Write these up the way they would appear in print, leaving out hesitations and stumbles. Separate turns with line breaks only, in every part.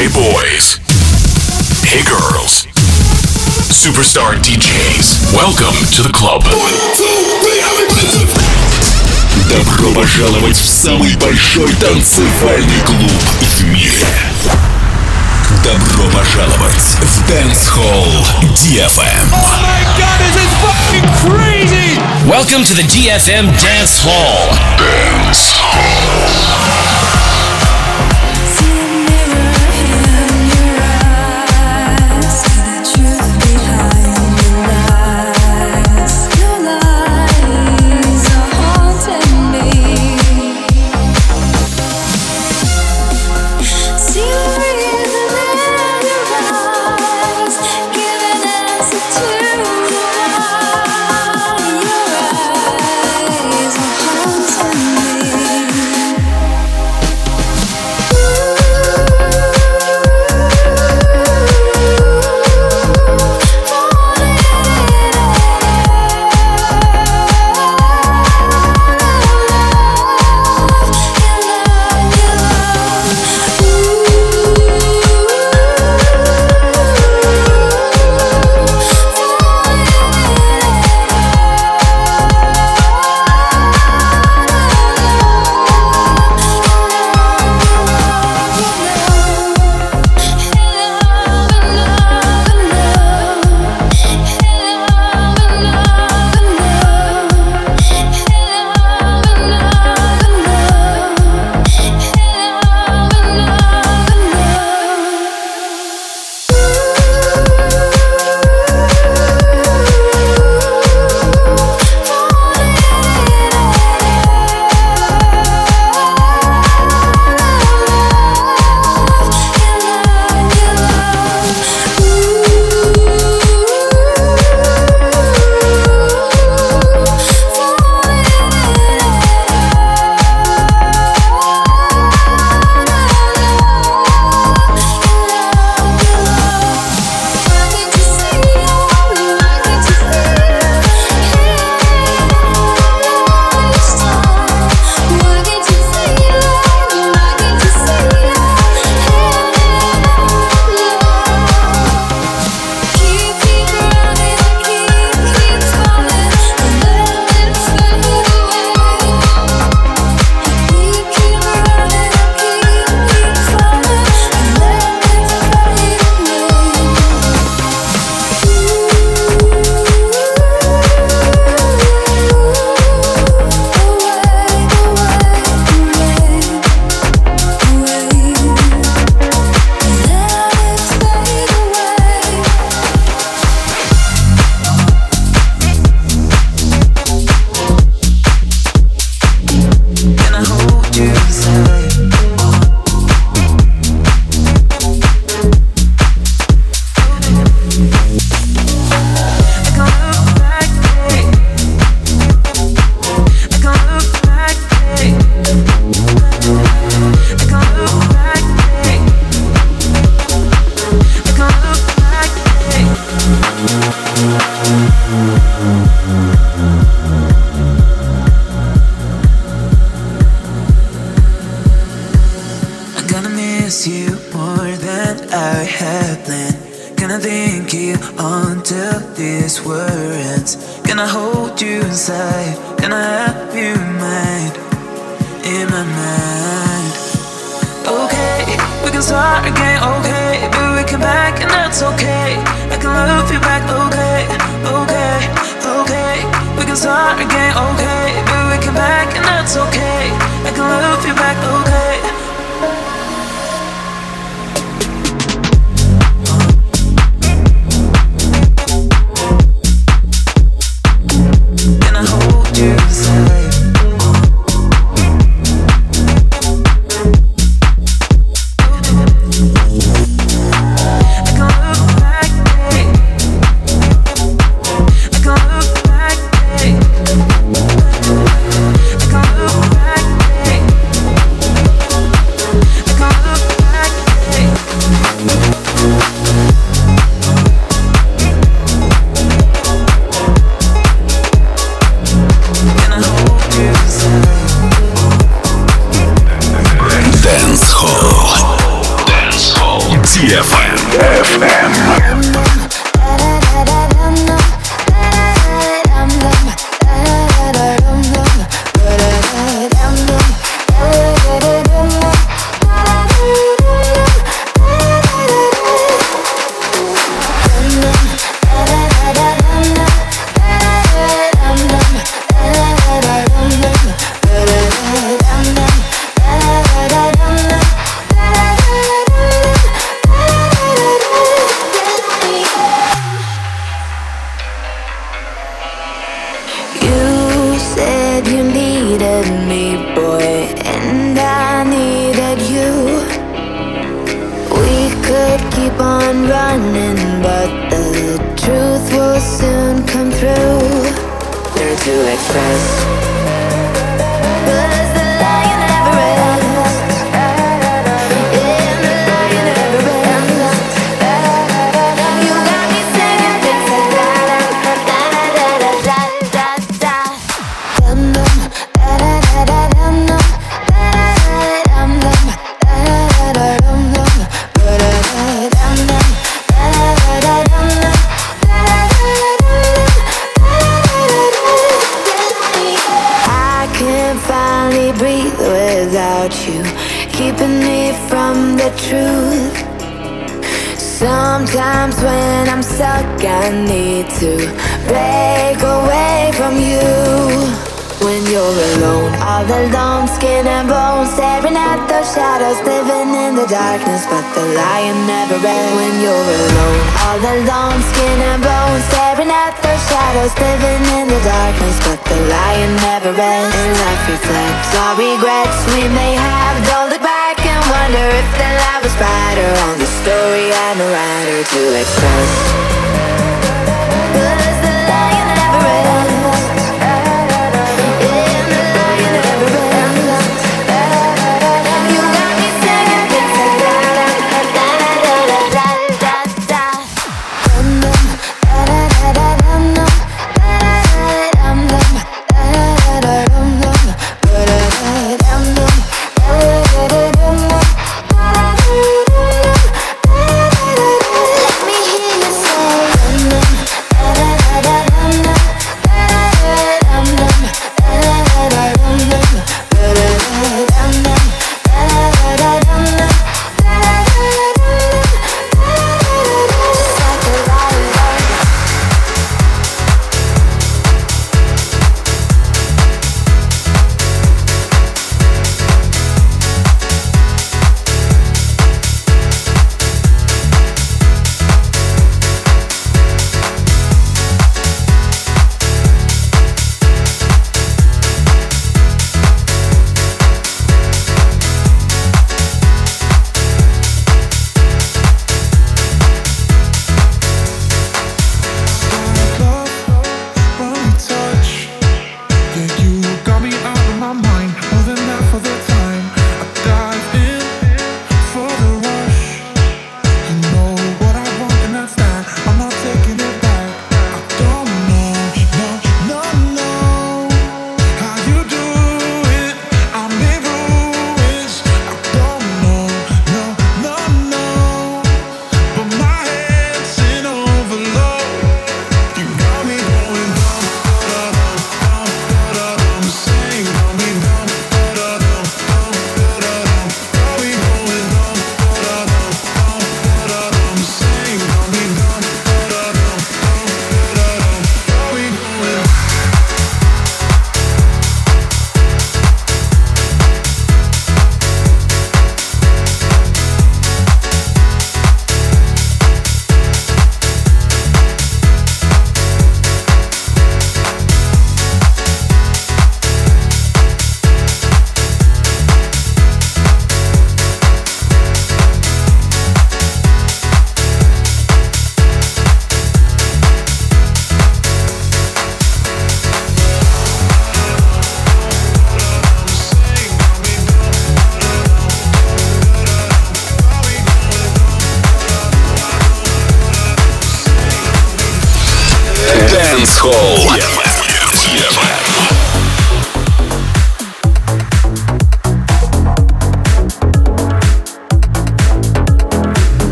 Hey boys. Hey girls. Superstar DJs. Welcome to the club.
Добро пожаловать в самый большой танцевальный клуб в мире. Добро пожаловать в Dance Hall DFM.
Oh my god, this is fucking crazy!
Welcome to the DFM Dance Hall.
Dance Hall.
Go back.
DFM.
Sometimes when I'm stuck, I need to break away from you. When you're alone, all alone, skin and bones, staring at those shadows, living in the darkness, but the lion never ends. When you're alone, all alone, skin and bones, staring at those shadows, living in the darkness, but the lion never ends. And life reflects all regrets we may have. Don't look back and wonder if the light was brighter on the story I'm a writer to express. 'Cause the lion never ends.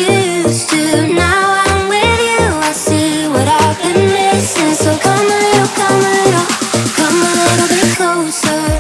used to. Now I'm with you, I see what I've been missing. So come a little, come a little, come a little bit closer.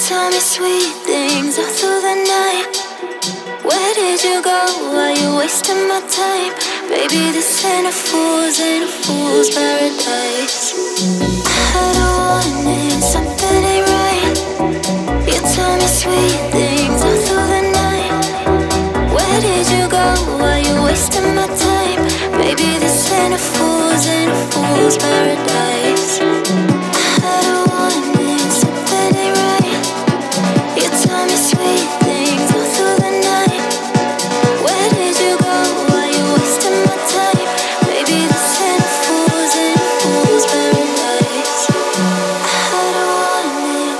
tell me sweet things all through the night. Where did you go? Are you wasting my time? Baby, this ain't a fool's paradise. I had a warning, something ain't right. You tell me sweet things all through the night. Where did you go? Are you wasting my time? Baby, this ain't a fool's paradise. I had a warning, something ain't right. You tell me sweet things all through the night. Where did you go? Are you wasting my time? Baby, this ain't a fool's paradise. I had a warning.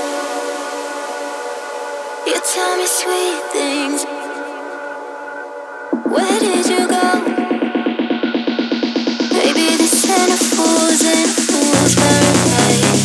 You tell me sweet things. Where did you go? Baby, this ain't a fool's paradise.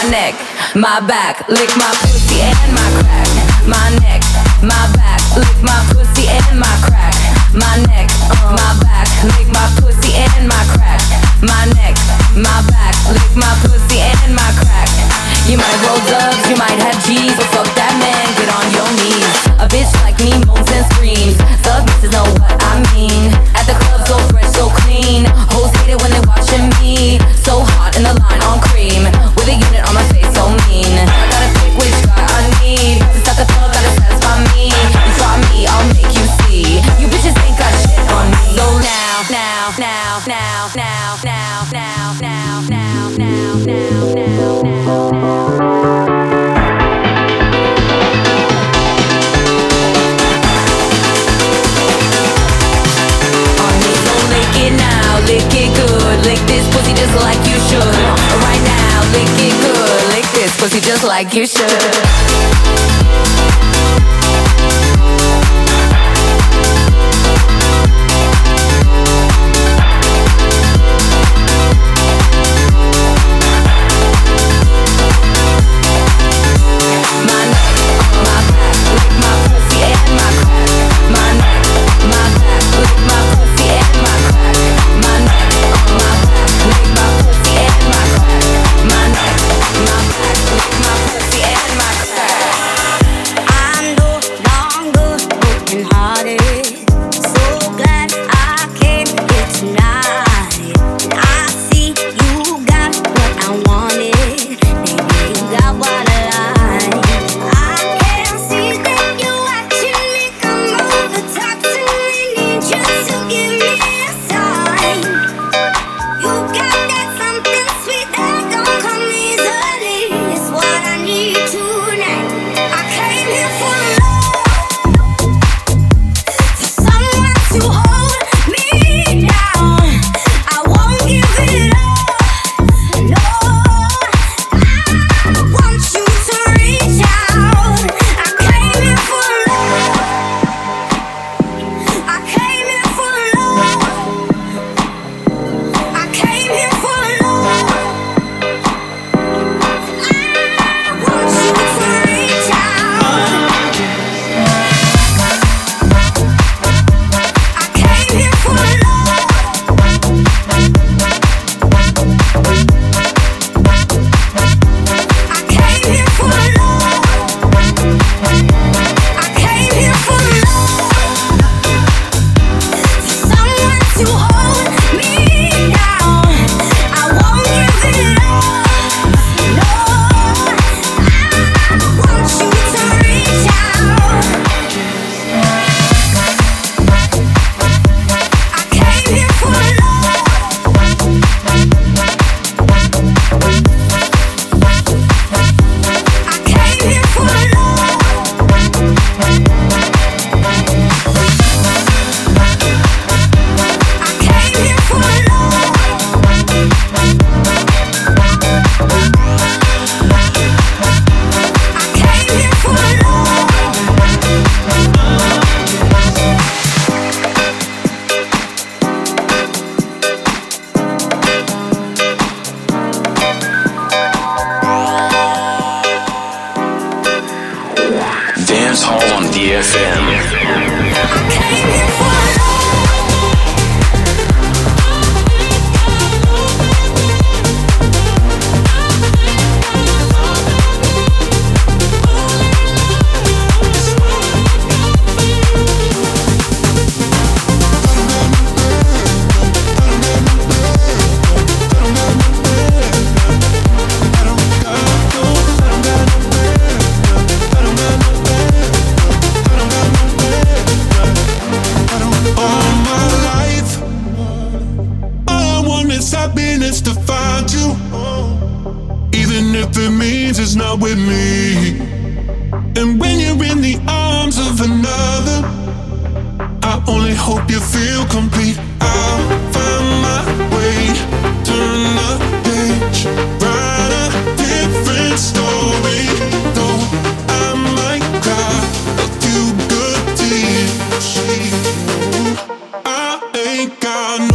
neck, my back, lick my pussy and my crack. My neck, my back, lick my pussy and my crack. My neck, my back, lick my pussy and my crack. My neck, my back, lick my pussy and my crack. You might roll dubs, you might have G's, but fuck that man, get on your knees. A bitch like me moans and screams, thug bitches know what I mean. At the club so fresh, so clean, hoes hate it when they watching me. So hot in the line on cream, with a unit on my face so mean. I gotta pick which guy I need, to suck a thug gotta satisfy me. You try me, I'll make you see. You bitches ain't got shit on me. So lick it good, lick this pussy just like you should. Right now, lick it good, lick this pussy just like you should.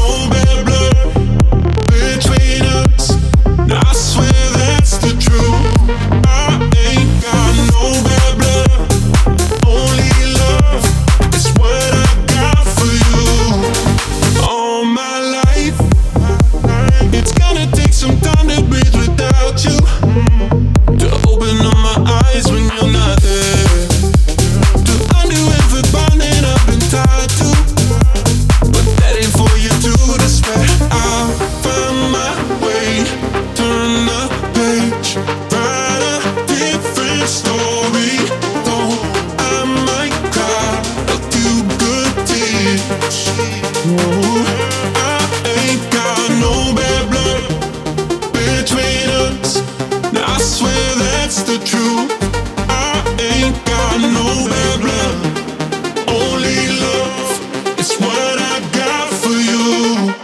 I swear that's the truth. that's the truth. I ain't got no bad blood, only love. It's what I got for you.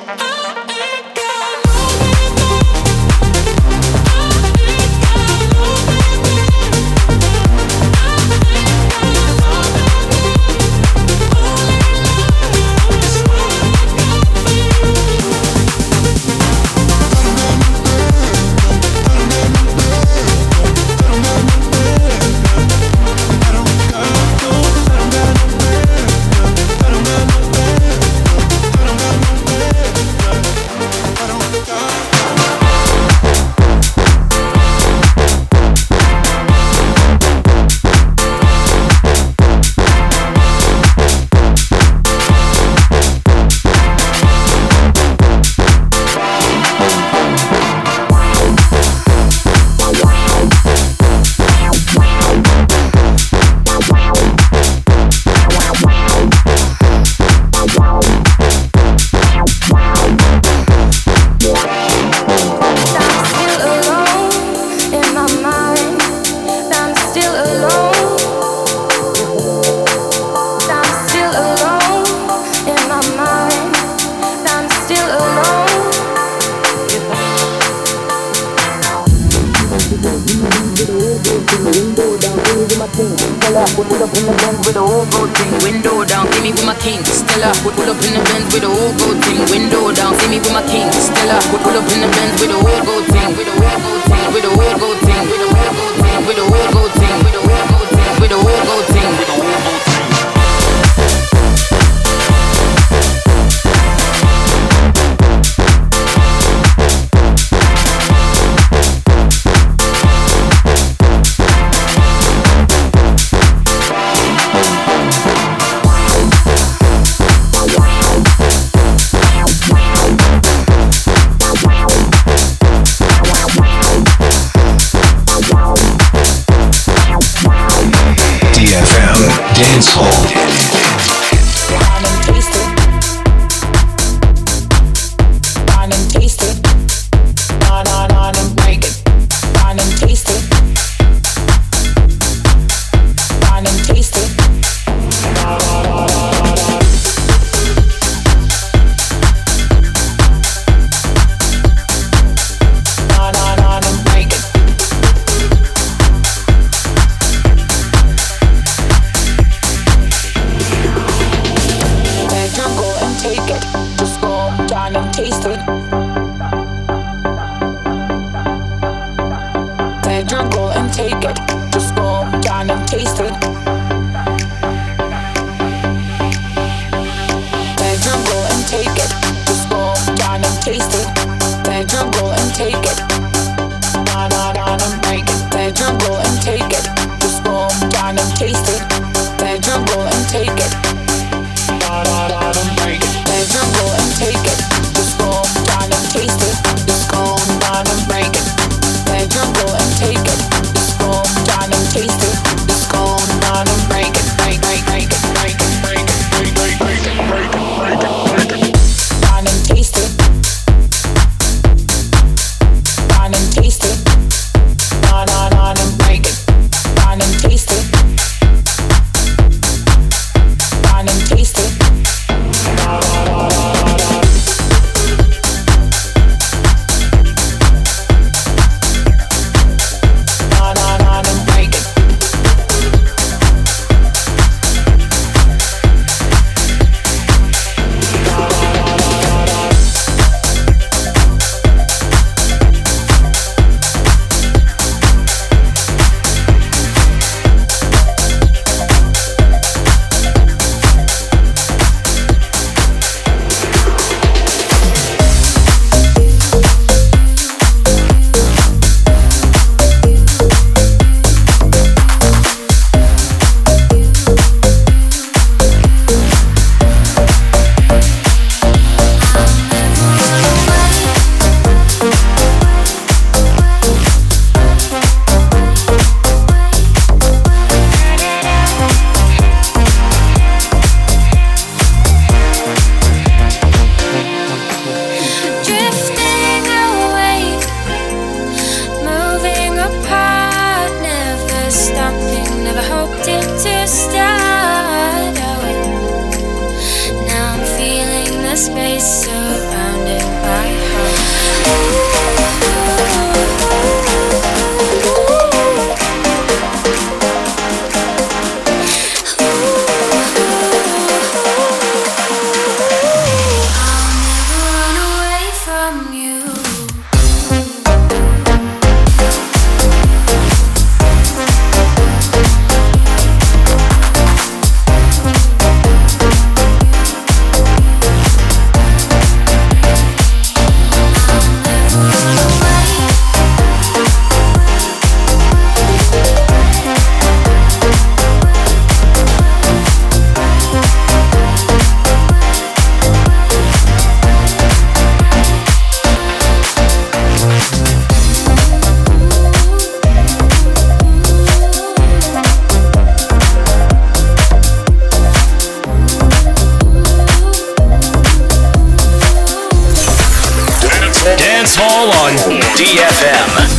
Soul on DFM.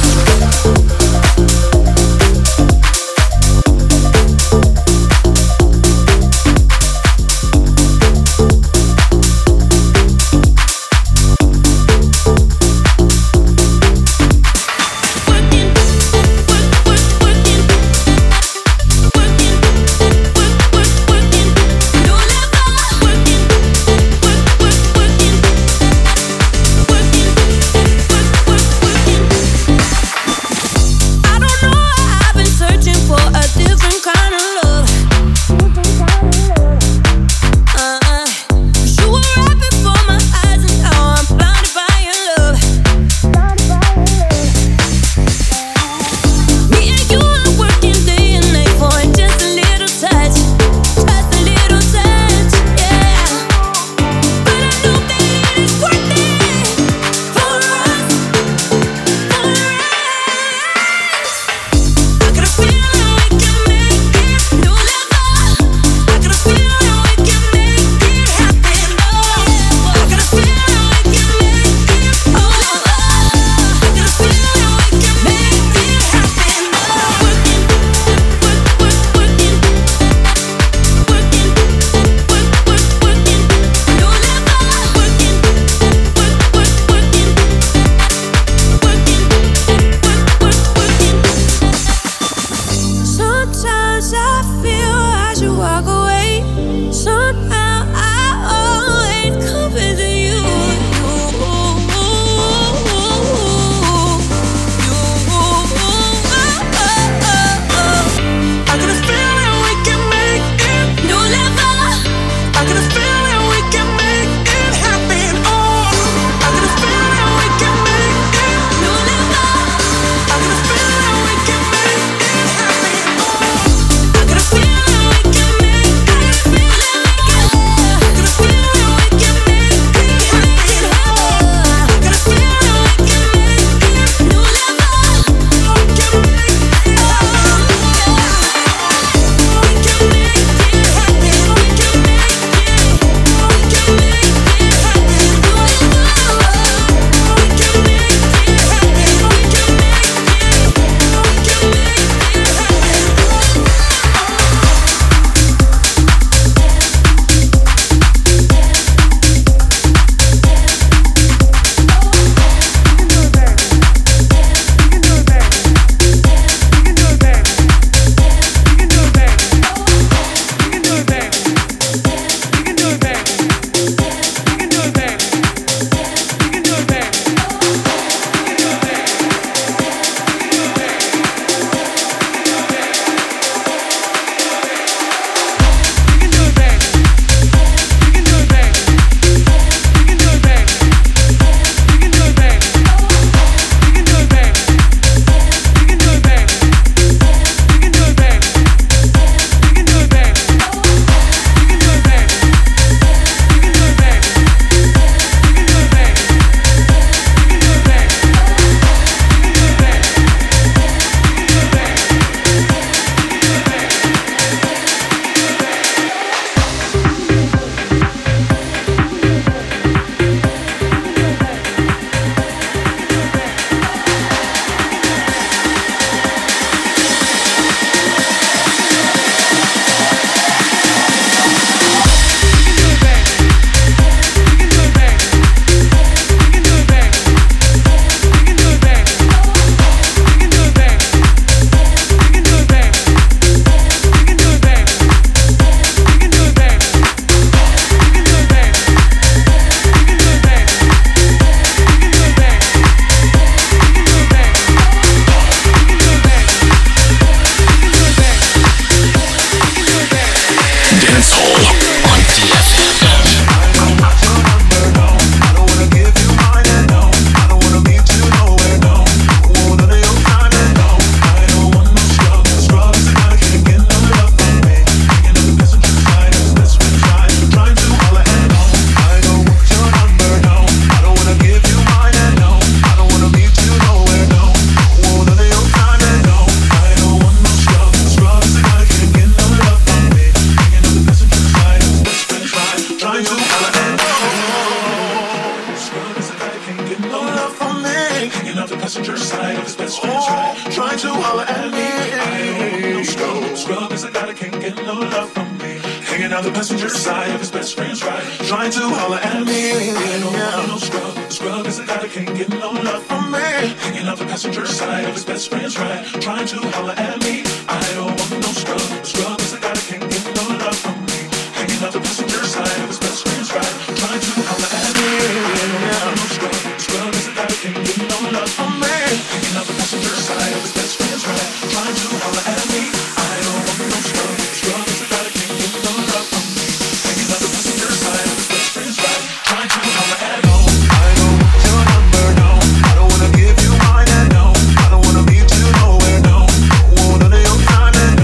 out the passenger side of his best friend's ride, trying to holler at me. I don't want no scrub. Scrub is a guy that can't get no love from me. Hanging out the passenger side of his best friend's ride, trying to holler at me. I don't want no scrub. Scrub is a guy that can't get no love from me. Hanging out the passenger side of his best friend's ride, trying to holler at me. I don't want no scrub. Scrub is a guy that can't get no love from me. Hanging out the passenger side of his best friend's ride, trying to holler at me. I don't want no scrub. Scrub is a guy that can't get no love from me. Hanging out the passenger side of his best friend's ride, trying to holler at me. I don't want no scrub. Scrub is a guy that can't get no love from me. Hanging out the passenger side of his best friend's ride, trying to holler at me. I don't want your number, no. I don't wanna give you mine, and no. I don't wanna meet you nowhere, no. Don't want none of your time, and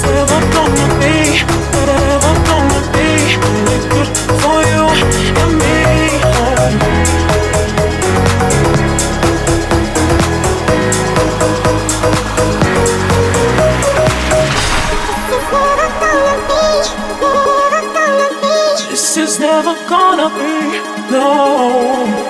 never gonna be really good for you and me. This is never gonna be, no.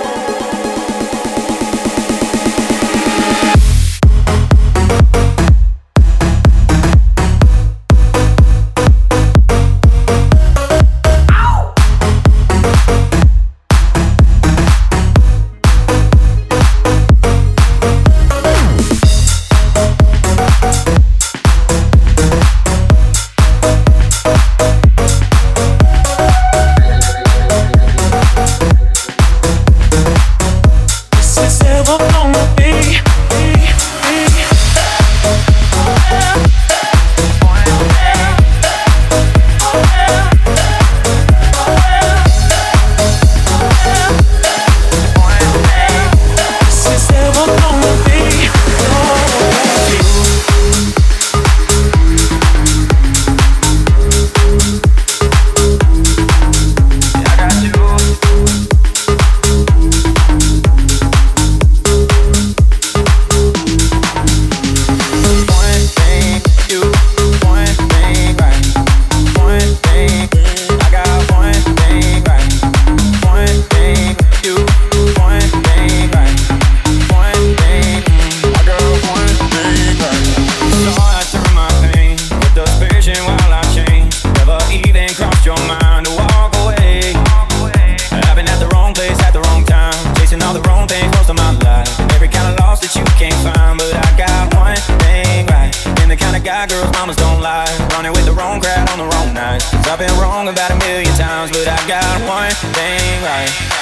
Girls, mamas don't lie. Running with the wrong crowd on the wrong night. 'Cause I've been wrong about 1,000,000 times, but I got one thing right.